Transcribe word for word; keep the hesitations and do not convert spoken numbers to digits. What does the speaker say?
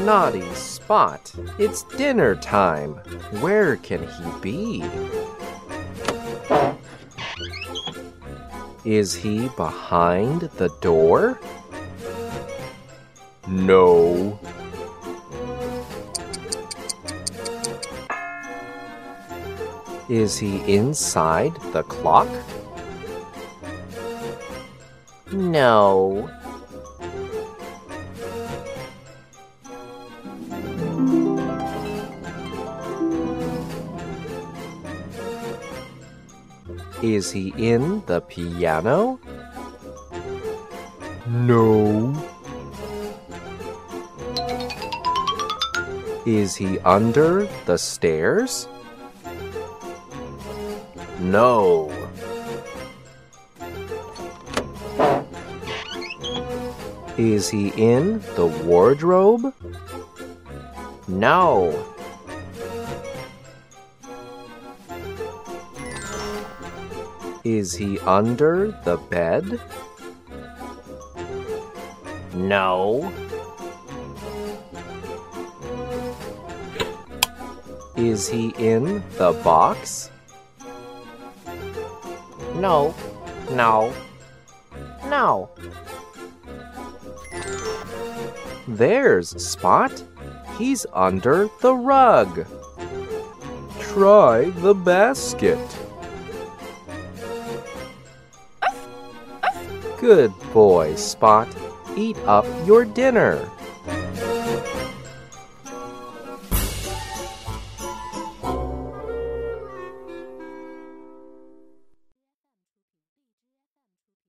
Naughty Spot, it's dinner time. Where can he be? Is he behind the door? No. Is he inside the clock? No. Is he in the piano? No. Is he under the stairs? No. Is he in the wardrobe? No. Is he under the bed? No. Is he in the box? No, no, no. There's Spot. He's under the rug. Try the basket. Good boy, Spot. Eat up your dinner.